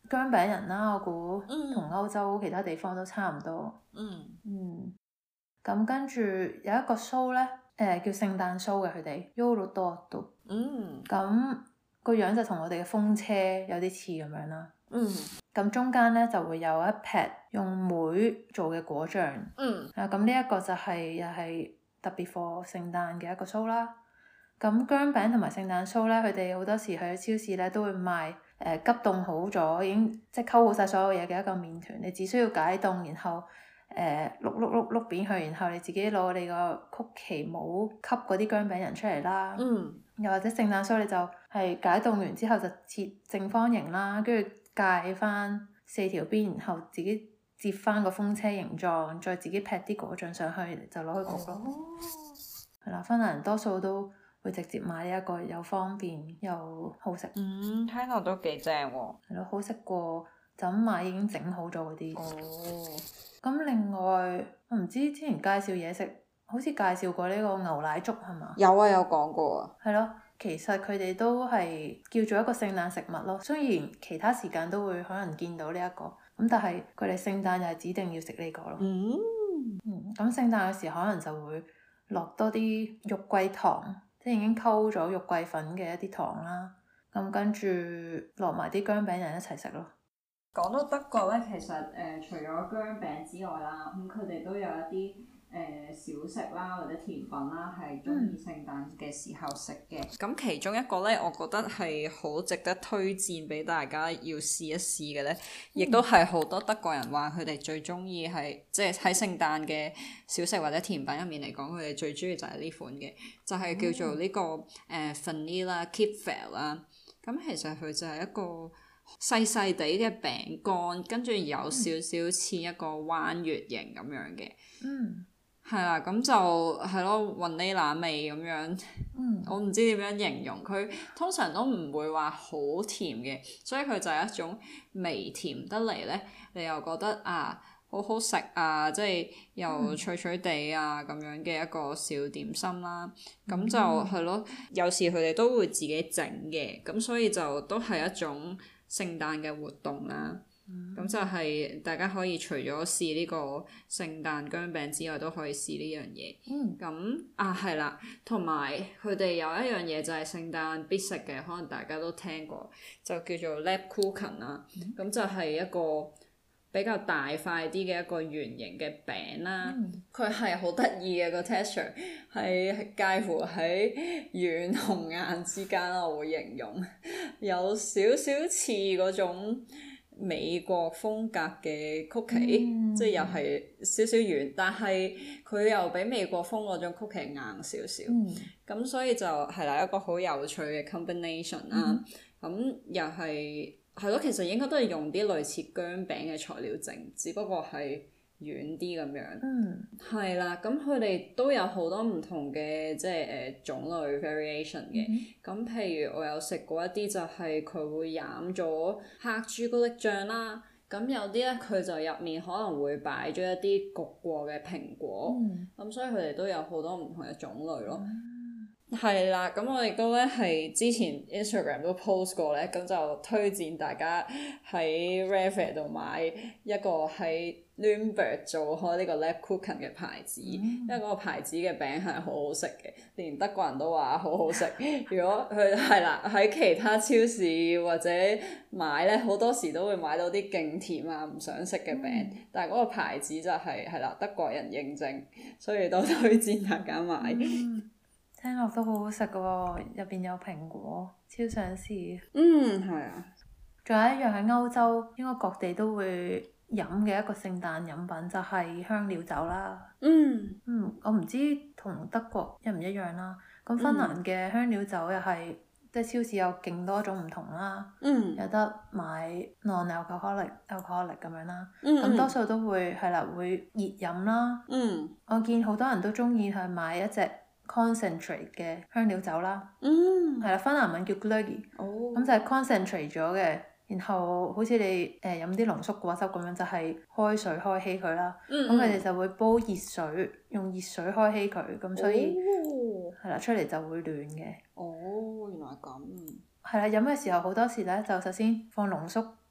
薑餅人啦，我估同歐洲其他地方都差唔多。 嗯。 嗯。咁跟住有一個 show 咧，誒、呃、叫聖誕 show 嘅佢哋 Yolo 多度。 嗯。 咁個樣就同我哋嘅風車有啲似咁樣啦。 嗯。 咁中間咧就會有一撇用梅做嘅果醬。 嗯。 啊，咁呢一個就係又係特別 for 聖誕嘅一個 show 啦。咁薑餅同埋聖誕 show 咧，佢哋好多時去超市咧都會賣誒、呃、急凍好咗，已經即係溝好晒所有嘢嘅一個麵團，你只需要解凍，然後誒碌碌碌碌扁佢，然後你自己攞你個曲奇模吸嗰啲薑餅人出嚟啦。 嗯。 又或者聖誕 show 你就係解凍完之後就切正方形啦，跟住界翻四條邊，然後自己折翻個風車形狀，再自己劈啲果醬上去就攞去焗咯。係啦、哦，芬蘭人多數都會直接買呢一個，又方便又好食。 嗯，聽落都幾正喎。 係咯，好食過就咁買已經整好咗嗰啲。 哦。咁另外，我唔知之前介紹嘢食，好似介紹過呢個牛奶粥係嘛？ 有啊，有講過啊。 係咯，其實佢哋都係叫做一個聖誕食物咯。雖然其他時間都會可能見到呢、這、一個，咁但係佢哋聖誕就係指定要食呢個咯。 嗯。 嗯，咁聖誕嘅時候可能就會落多啲肉桂糖，即係已經溝咗肉桂粉嘅一啲糖啦。咁跟住落埋啲薑餅人一齊食咯。 講到德國咧，其實誒、呃、除咗薑餅之外啦，咁佢哋都有一啲誒、呃、小食啦或者甜品啦，係中意聖誕嘅時候食嘅。 咁、嗯、其中一個咧，我覺得係好值得推薦俾大家要試一試嘅咧，亦都係好多德國人話佢哋最中意係即係喺聖誕嘅小食或者甜品入面嚟講，佢哋最中意就係呢款嘅，就係、是、叫做呢、這個誒、呃、Vanilla Kipferl 啦。咁其實佢就係一個細細地嘅餅乾，跟住有少少似一個彎月形咁樣嘅， 嗯， 係啦，咁就係咯，雲呢拿味咁樣， 嗯， 我唔知點樣形容佢，通常都唔會話好甜嘅，所以佢就係一種微甜得嚟咧，你又覺得啊好好食啊，即係又脆脆地啊咁樣嘅一個小點心啦，咁、嗯、就係咯，有時佢哋都會自己整嘅，咁所以就都係一種聖誕嘅活動啦，咁、嗯、就係大家可以除咗試呢個聖誕薑餅之外，都可以試呢樣嘢。咁、嗯、啊係啦，同埋佢哋有一樣嘢就係聖誕必食嘅，可能大家都聽過，就叫做 Lebkuchen 啦。咁、嗯、就係一個比較大塊啲嘅一個圓形嘅餅啦。佢係好得意嘅個 texture，係介乎喺軟同硬之間，我會形容有少少似嗰種美國風格嘅曲奇，嗯、即係又係少少軟，但係佢又比美國風嗰種曲奇硬少少。咁、嗯、所以就係啦，一個好有趣嘅 combination 啦。咁、嗯、又係係咯，其實應該都係用啲類似薑餅嘅材料整，只不過係軟啲咁樣，係啦、嗯。咁佢哋都有好多唔同嘅即係誒、呃、種類 variation 嘅。咁、嗯、譬如我有食過一啲就係佢會染咗黑朱古力醬啦。咁有啲咧佢就入面可能會擺咗一啲焗過嘅蘋果。咁、嗯、所以佢哋都有好多唔同嘅種類咯。係啦，咁我亦都咧係之前 Instagram 都 post 過咧，咁就推薦大家喺 Refair 度買一個喺 Nürnberg 做開呢個 Lebkuchen 嘅牌子，嗯、因為嗰個牌子嘅餅係好好食嘅，連德國人都話好好食。如果佢係啦喺其他超市或者買咧，好多時都會買到啲勁甜啊唔想食嘅餅，嗯、但係嗰個牌子就係係啦德國人認證，所以都推薦大家買。 嗯聽落都好好食㗎喎，入邊有蘋果，超想試。 嗯，係啊。 仲有一樣喺歐洲，應該各地都會飲嘅一個聖誕飲品就係、是、香料酒啦。 嗯。嗯， 我唔知同德國一唔一樣啦。咁芬蘭嘅香料酒又係、嗯、即係超市有勁多種唔同啦。嗯。有得買 non-alcoholic、alcoholic 咁樣啦。嗯。咁多數都會係啦，會熱飲啦。嗯。我見好多人都中意去買一隻 concentrate 嘅香料酒啦，係啦、嗯，芬蘭文叫 glögg，咁、哦、就係 concentrate 咗嘅，然後好似你誒飲啲濃縮果汁咁樣，就係、是、開水開稀佢啦，咁佢哋就會煲熱水，用熱水開稀佢，咁所以係啦、哦、出嚟就會暖嘅。 哦，原來係咁。 係啦，飲嘅時候好多時咧，就首先放濃縮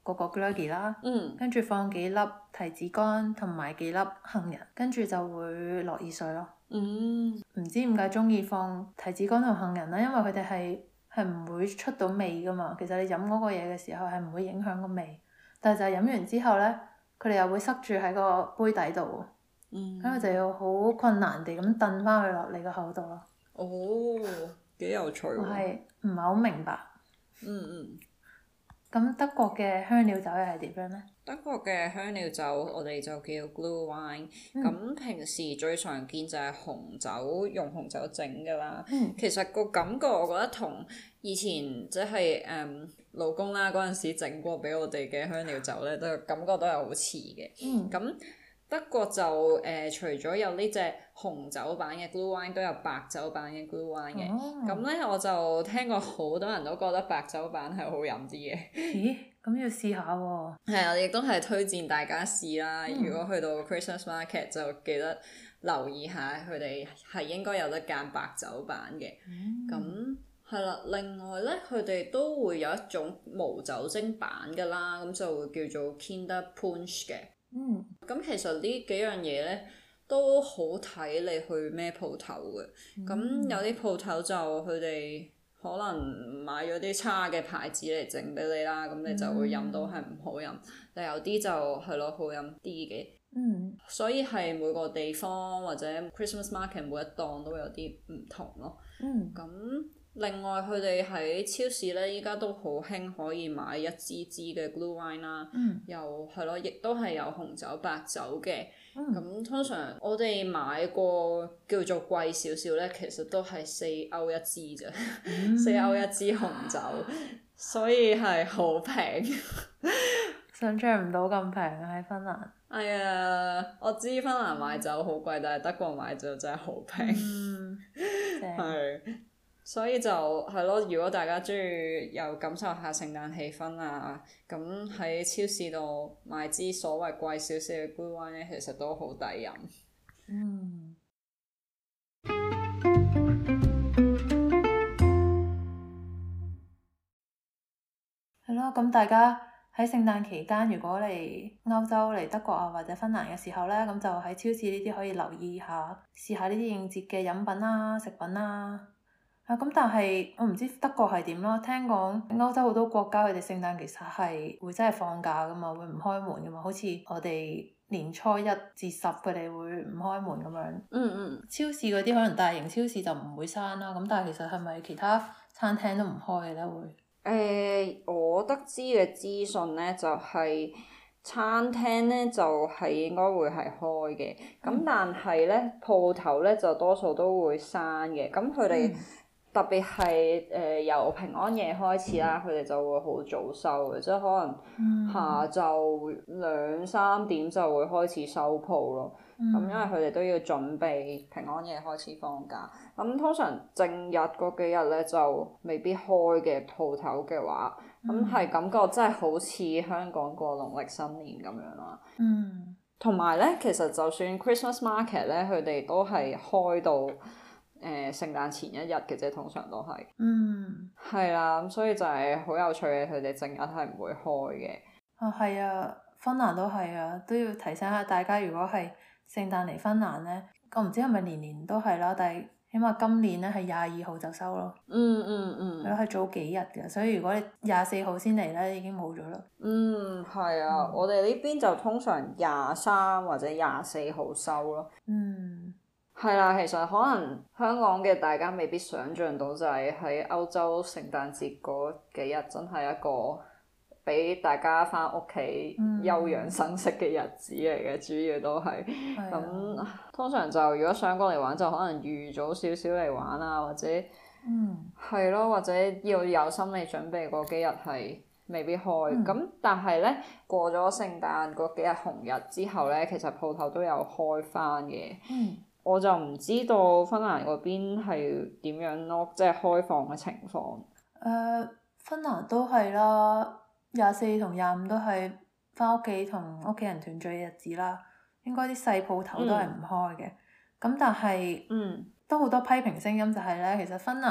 個個 glöggi 啦， 嗯、 跟住放幾粒提子乾同埋幾粒杏仁，跟住就會落薏水咯。 嗯， 唔知點解中意放提子乾同杏仁咧？因為佢哋係係唔會出到味噶嘛。其實你飲嗰個嘢嘅時候係唔會影響個味，但係就係飲完之後咧，佢哋又會塞住喺個杯底度， 嗯， 咁佢就要好困難地咁燉翻佢落你個口度咯。 哦，幾有趣喎！ 我係唔係好明白？ 嗯嗯。 咁德國嘅香料酒又係點樣咧？ 德國嘅香料酒我哋就叫 Glühwein，咁、嗯、平時最常見就係紅酒，用紅酒整㗎啦。 嗯、其實個感覺我覺得同以前即係誒老公啦嗰陣時整過俾我哋嘅香料酒咧，都感覺都係好似嘅。咁、嗯、德國就誒、呃、除咗有呢隻紅酒版嘅 Glühwein，都有白酒版嘅 Glühwein 嘅。咁咧、哦、我就聽過好多人都覺得白酒版係好飲啲嘅。 咦？咁要試下喎。係啊，亦都係推薦大家試啦。嗯、如果去到 Christmas Market 就記得留意下，佢哋係應該有得揀白酒版嘅。咁係啦，另外咧，佢哋都會有一種無酒精版㗎啦，咁就會叫做 Kinderpunsch 嘅。嗯。咁其實呢幾樣嘢咧都好睇你去咩鋪頭嘅。咁、嗯、有啲鋪頭就佢哋可能買咗啲差嘅牌子嚟整俾你啦，咁你就會飲到係唔好飲。嗯、但有啲就係咯好飲啲嘅。嗯。所以係每個地方或者 Christmas Market 每一檔都有啲唔同咯。嗯。咁另外佢哋喺超市咧，依家都好興可以買一支支嘅 Glühwein 啦。嗯。又係咯，亦都係有紅酒、白酒嘅。咁、嗯、通常我哋買過叫做貴少少咧，其實都係四歐一支啫，嗯、四歐一支紅酒，所以係好平。 想像唔到咁平啊！喺芬蘭。 哎呀，我知芬蘭買酒好貴，但係德國買酒真係好平。嗯。係。所以就係咯，如果大家中意又感受下聖誕氣氛啊，咁喺超市度買支所謂貴少少嘅 Glühwein 咧，其實都好抵飲。嗯。 係咯，咁大家喺聖誕期間，如果嚟歐洲嚟德國啊或者芬蘭嘅時候咧，咁就喺超市呢啲可以留意下，試下呢啲應節嘅飲品啦、食品啦。啊，咁但係我唔知德國係點咯，聽講歐洲好多國家佢哋聖誕其實係會真係放假噶嘛，會唔開門噶嘛，好似我哋年初一至十佢哋會唔開門咁樣。嗯嗯。超市嗰啲可能大型超市就唔會閂啦，咁但係其實係咪其他餐廳都唔開嘅咧會？誒、 呃，我得知嘅資訊咧就係、是、餐廳咧就係、是、應該會係開嘅，咁、嗯、但係咧鋪頭咧就多數都會閂嘅，咁佢哋。嗯特別係誒、呃、由平安夜開始啦，佢哋、嗯、就會好早收嘅，即係可能下晝兩三點就會開始收鋪咯。咁、嗯、因為佢哋都要準備平安夜開始放假。咁通常正日嗰幾日咧就未必開嘅鋪頭嘅話，咁係、嗯、感覺真係好似香港過農曆新年咁樣啦。嗯。同埋咧，其實就算 Christmas Market 咧，佢哋都係開到。誒、呃、聖誕前一日嘅啫，通常都係。嗯。係啦，咁所以就係好有趣嘅，佢哋正日係唔會開嘅。 啊，係啊，芬蘭都係啊，都要提醒下大家，如果係聖誕嚟芬蘭咧，我唔知係咪年年都係啦，但係起碼今年咧係廿二號就收咯。嗯嗯嗯。係咯，係早幾日嘅，所以如果你廿四號先嚟咧，已經冇咗啦。 嗯，係啊，嗯、我哋呢邊就通常廿三或者廿四號收咯。嗯。係啦，其實可能香港嘅大家未必想像到，就係喺歐洲聖誕節嗰幾日真係一個俾大家返屋企休養生息嘅日子嚟嘅，嗯、主要都係咁。的通常就如果想過嚟玩，就可能預早少少嚟玩啊，或者係咯、嗯，或者要有心理準備嗰幾日係未必開。咁、嗯、但係咧過咗聖誕嗰幾日紅日之後咧，其實鋪頭都有開返嘅。嗯我就唔知道芬蘭嗰邊係點樣咯，即係開放嘅情況。誒、 呃，芬蘭都係啦，廿四同廿五都係返屋企同屋企人團聚嘅日子啦。應該啲細鋪頭都係唔開嘅。咁、嗯、但係，嗯，都好多批評聲音就係咧，其實芬蘭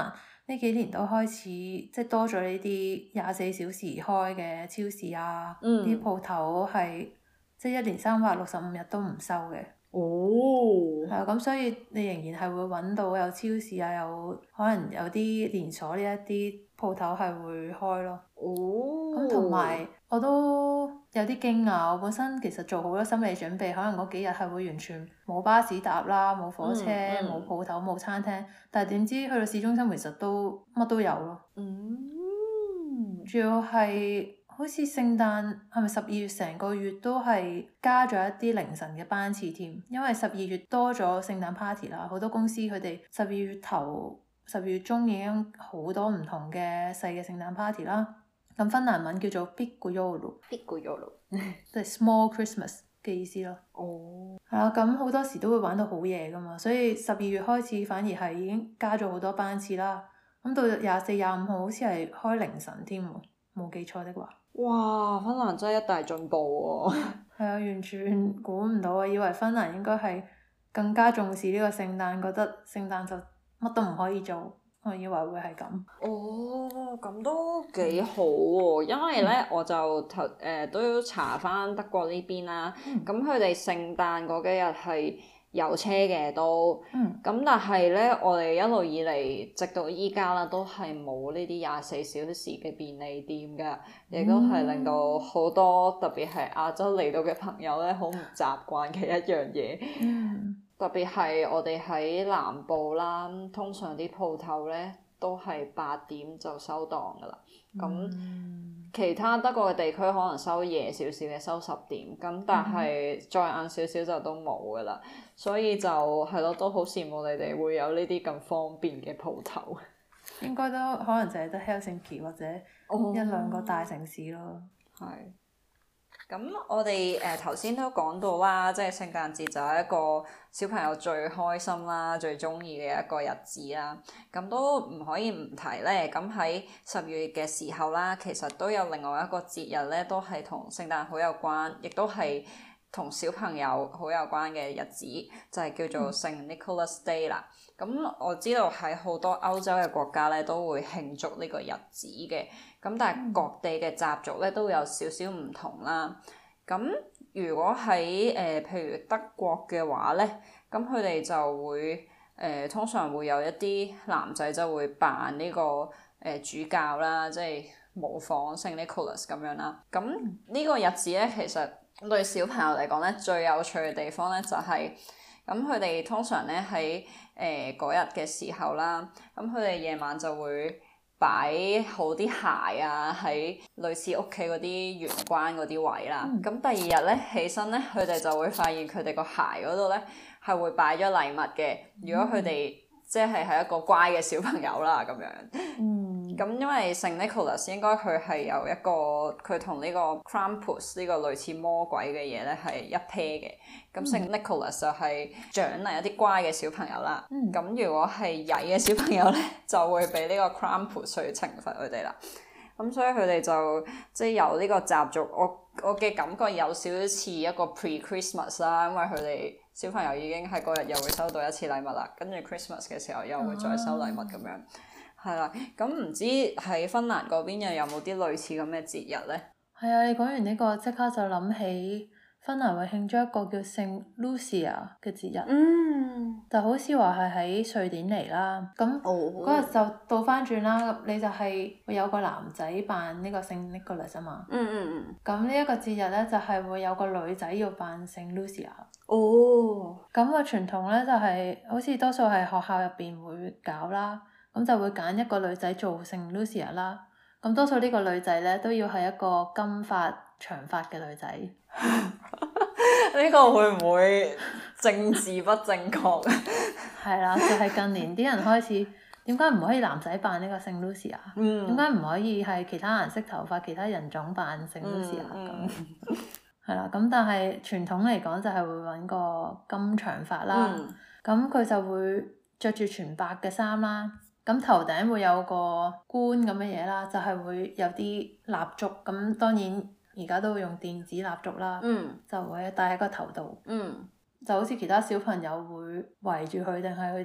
呢幾年都開始即係多咗呢啲廿四小時開嘅超市啊，啲鋪頭係即係一年三百六十五日都唔收嘅。 哦， 係啊，咁所以你仍然係會揾到有超市啊，有可能有啲連鎖呢一啲鋪頭係會開咯。 哦， 咁同埋我都有啲驚訝，我本身其實做好多心理準備，可能嗰幾日係會完全冇巴士搭啦，冇火車，冇鋪頭，冇餐廳，但係點知去到市中心其實都乜都有咯。 嗯， 主要係好似聖誕係咪十二月成個月都係加咗一啲凌晨嘅班次添，因為十二月多咗聖誕 party 啦，好多公司佢哋十二月頭、十二月中已經好多唔同嘅細嘅聖誕 party 啦。咁芬蘭文叫做 Pikku Joulu，Pikku Joulu，即係 small Christmas 嘅意思咯。 哦， 係啦，咁好多時都會玩到好夜噶嘛，所以十二月開始反而係已經加咗好多班次啦。咁到廿四、廿五號好似係開凌晨添喎，冇記錯的話。 哇！芬蘭真係一大進步喎。 係啊，完全估唔到啊！以為芬蘭應該係更加重視呢個聖誕，覺得聖誕就乜都唔可以做。我以為會係咁。 哦，咁都幾好喎！因為咧，嗯、我就頭誒、呃、都要查翻德國呢邊啦。咁佢哋聖誕嗰幾日係有車嘅都。咁、嗯、但係咧，我哋一路以嚟，直到依家啦，都係冇呢啲廿四小時嘅便利店㗎，亦都係令到好多特別係亞洲嚟到嘅朋友咧，好唔習慣嘅一樣嘢。嗯特別係我哋喺南部啦，通常啲鋪頭咧都係八點就收檔噶啦。咁、嗯、其他德國嘅地區可能收夜少少嘅，收十點。咁但係再晏少少就都冇噶啦。所以就係咯，都好羨慕你哋會有呢啲咁方便嘅鋪頭。 應該都可能就係得 Helsinki 或者一兩個大城市咯。 係、哦。咁我哋誒頭先都講到啦，即係聖誕節就係一個小朋友最開心啦、最中意嘅一個日子啦。咁都唔可以唔提咧。咁喺十月嘅時候啦，其實都有另外一個節日咧，都係同聖誕好有關，亦都係同小朋友好有關嘅日子，就係、是、叫做聖 Nicholas Day 啦。咁我知道喺好多歐洲嘅國家咧都會慶祝呢個日子嘅，咁但係各地嘅習俗咧都有少少唔同啦。咁如果喺誒、呃、譬如德國嘅話咧，咁佢哋就會誒、呃、通常會有一啲男仔就會扮呢、這個誒、呃、主教啦，即係模仿聖 Nicholas 咁樣啦。咁呢個日子咧，其實對小朋友嚟講咧，最有趣嘅地方咧就係、是。咁佢哋通常咧喺誒嗰日嘅時候啦，咁佢哋夜晚就會擺好啲鞋啊，喺類似屋企嗰啲玄關嗰啲位啦。咁、嗯、第二日咧起身咧，佢哋就會發現佢哋個鞋嗰度咧係會擺咗禮物嘅。如果佢哋即係係一個乖嘅小朋友啦，咁樣。嗯。咁因為聖 Nicholas 應該佢係有一個佢同呢個 Krampus 呢個類似魔鬼嘅嘢咧係一 pair 嘅。咁聖 Nicholas 就係獎勵一啲乖嘅小朋友啦。咁、嗯、如果係曳嘅小朋友咧，就會俾呢個 Krampus 去懲罰佢哋啦。咁所以佢哋就即係有呢個習俗，我我嘅感覺有少少似一個 pre-Christmas 啦，因為佢哋小朋友已經喺嗰日又會收到一次禮物啦，跟住 Christmas 嘅時候又會再收禮物咁樣。係啦，咁唔知喺芬蘭嗰邊又有冇啲類似咁嘅節日咧？ 係啊，你講完呢個即刻就諗起芬蘭會慶祝一個叫聖 Lucia 嘅節日，嗯，就好似話係喺瑞典嚟啦。咁嗰日就倒翻轉啦，你就係會有個男仔扮呢個聖 Nicholas 啊嘛。嗯嗯嗯。咁呢一個節日咧，就係會有個女仔要扮聖 Lucia。哦。咁個傳統咧就係好似多數係學校入邊會搞啦。咁就會揀一個女仔做聖 Lucia 啦，咁多數呢個女仔咧都要係一個金髮長髮嘅女仔。 呢個會唔會政治不正確？ 係啦，就係、是、近年啲人開始點解唔可以男仔扮呢個聖 Lucia？點解唔可以係其他顏色頭髮、其他人種扮聖 Lucia 咁？係啦，咁但係傳統嚟講就係會揾個金長髮啦，咁佢、嗯、就會着住全白嘅衫啦。咁頭頂會有個冠咁嘅嘢啦，就係、是、會有啲蠟燭，咁當然而家都會用電子蠟燭啦，嗯、就會戴喺個頭度，嗯、就好似其他小朋友會圍住佢，定係佢哋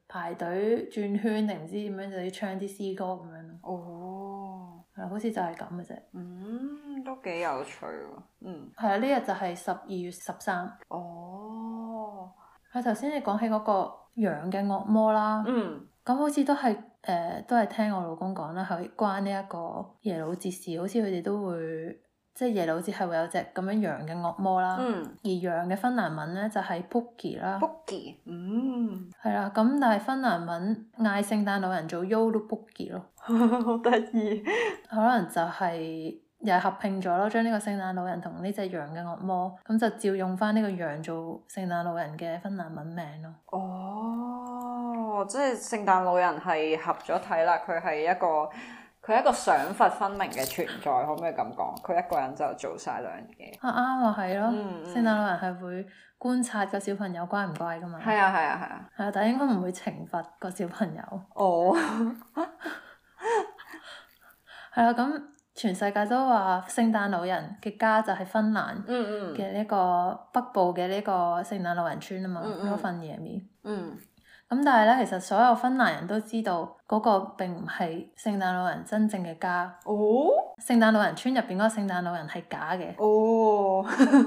排隊轉圈定唔知點樣就要唱啲詩歌咁樣咯。 哦， 係啊，好似就係咁嘅啫。 嗯，都幾有趣喎。嗯。 係啊，呢日就係十二月十三。 哦。 係頭先你講起嗰個羊嘅惡魔啦。 嗯。 咁好似都係誒、呃，都係聽我老公講啦，係關呢一個耶魯節事，好似佢哋都會，即係耶魯節係會有隻咁樣羊嘅惡魔啦。 嗯。 而羊嘅芬蘭文咧就係、是、Pukki 啦。 Pukki。嗯。 係啦，咁但係芬蘭文嗌聖誕老人做 Joulupukki 咯。 好得意。 可能就係、是。又係合併咗咯，將呢個聖誕老人同呢隻羊嘅惡魔，咁就照用翻呢個羊做聖誕老人嘅芬蘭文名咯。 哦，即係聖誕老人係合咗體啦，佢係一個佢係一個賞罰分明嘅存在，可唔可以咁講？佢一個人就做晒兩樣嘢。啊啱啊，係咯。 嗯嗯、聖誕老人係會觀察個小朋友乖唔乖噶嘛。 係啊係啊係啊。 係啊，但係應該唔會懲罰個小朋友。 哦。 係啊，咁。全世界都話聖誕老人嘅家就係芬蘭嘅呢個北部嘅呢個聖誕老人村啊嘛，羅芬耶米。 嗯。 咁但係咧，其實所有芬蘭人都知道嗰個並唔係聖誕老人真正嘅家。 哦。 聖誕老人村入邊嗰個聖誕老人係假嘅。 哦。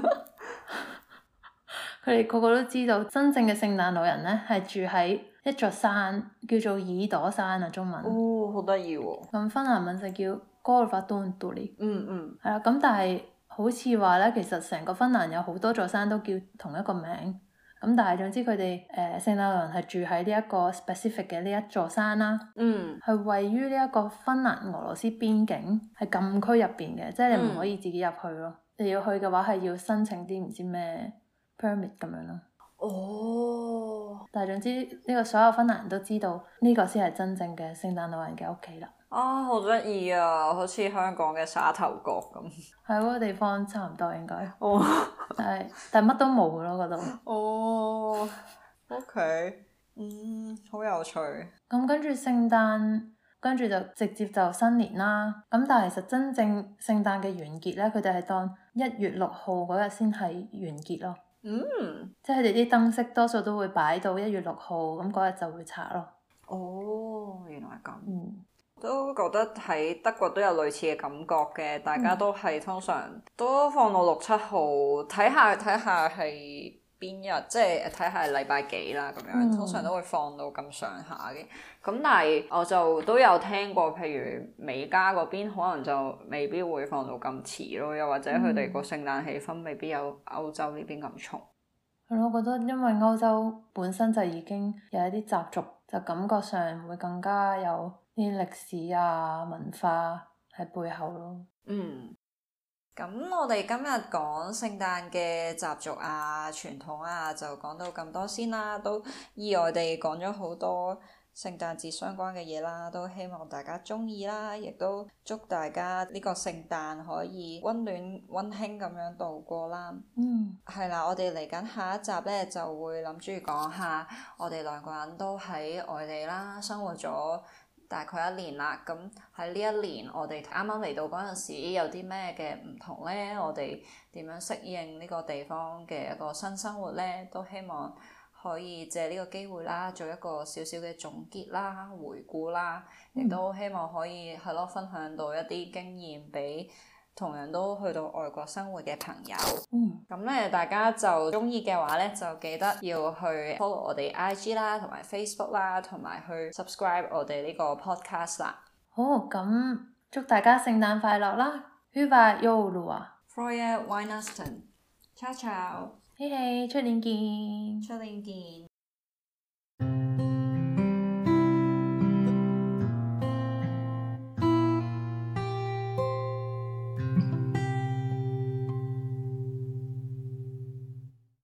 佢哋個個都知道真正嘅聖誕老人咧係住喺一座山，叫做耳朵山啊，中文。 哦，好得意喎。 咁芬蘭文就叫Korvatunturi。 嗯嗯。 係啦，咁但係好似話咧，其實成個芬蘭有好多座山都叫同一個名。咁但係總之佢哋誒聖誕老人係住喺呢一個 specific 嘅呢一座山啦。 嗯。 係位於呢一個芬蘭俄羅斯邊境，係禁區入邊嘅，即係你唔可以自己入去咯。嗯、你要去嘅話係要申請啲唔知咩 permit 咁樣咯。 哦。但係總之呢個所有芬蘭人都知道呢個先係真正嘅聖誕老人嘅屋企啦。 啊，好得意啊！好似香港嘅沙頭角咁。 係嗰個地方差唔多應該。 哦。 係，但係乜都冇咯嗰度。 哦。OK。嗯，好有趣。 咁跟住聖誕，跟住就直接就新年啦。咁但係其實真正聖誕嘅完結咧，佢哋係當一月六號嗰日先係完結咯。 嗯。 即係佢哋啲燈飾多數都會擺到一月六號，咁嗰日就會拆咯。 哦，原來係咁。 嗯。 都覺得喺德國都有類似嘅感覺嘅，大家都係通常都放到六七號，睇下睇下係邊日，即係睇下係禮拜幾啦咁樣，嗯、通常都會放到咁上下嘅。咁但係我就都有聽過，譬如美加嗰邊可能就未必會放到咁遲咯，又或者佢哋個聖誕氣氛未必有歐洲呢邊咁重。 係咯、嗯，我覺得因為歐洲本身就已經有一啲習俗，就感覺上會更加有啲歷史啊文化喺背後咯。 嗯，咁我哋今日講聖誕嘅習俗啊傳統啊就講到咁多先啦，都意外地講咗好多聖誕節相關嘅嘢啦，都希望大家鍾意啦，亦都祝大家呢個聖誕可以溫暖溫馨咁樣度過啦。 嗯， 係啦，我哋嚟緊下一集咧就會諗住講下我哋兩個人都喺外地啦，生活咗大概一年啦，咁喺呢一年我哋啱啱嚟到嗰陣時有啲咩嘅唔同咧？我哋點樣適應呢個地方嘅一個新生活咧？都希望可以借呢個機會啦，做一個少少嘅總結啦、回顧啦，亦、嗯、都希望可以係咯分享到一啲經驗俾同樣都去到外國生活嘅朋友。嗯，咁咧大家就鍾意嘅話咧，就記得要去 follow 我哋 I G 啦，同埋 Facebook 啦，同埋去 subscribe 我哋呢個 podcast 啦。 好，咁祝大家聖誕快樂啦！Hyvää joulua! Frohe Weihnachten! Ciao ciao! 嘿嘿，出年見！ 出年見！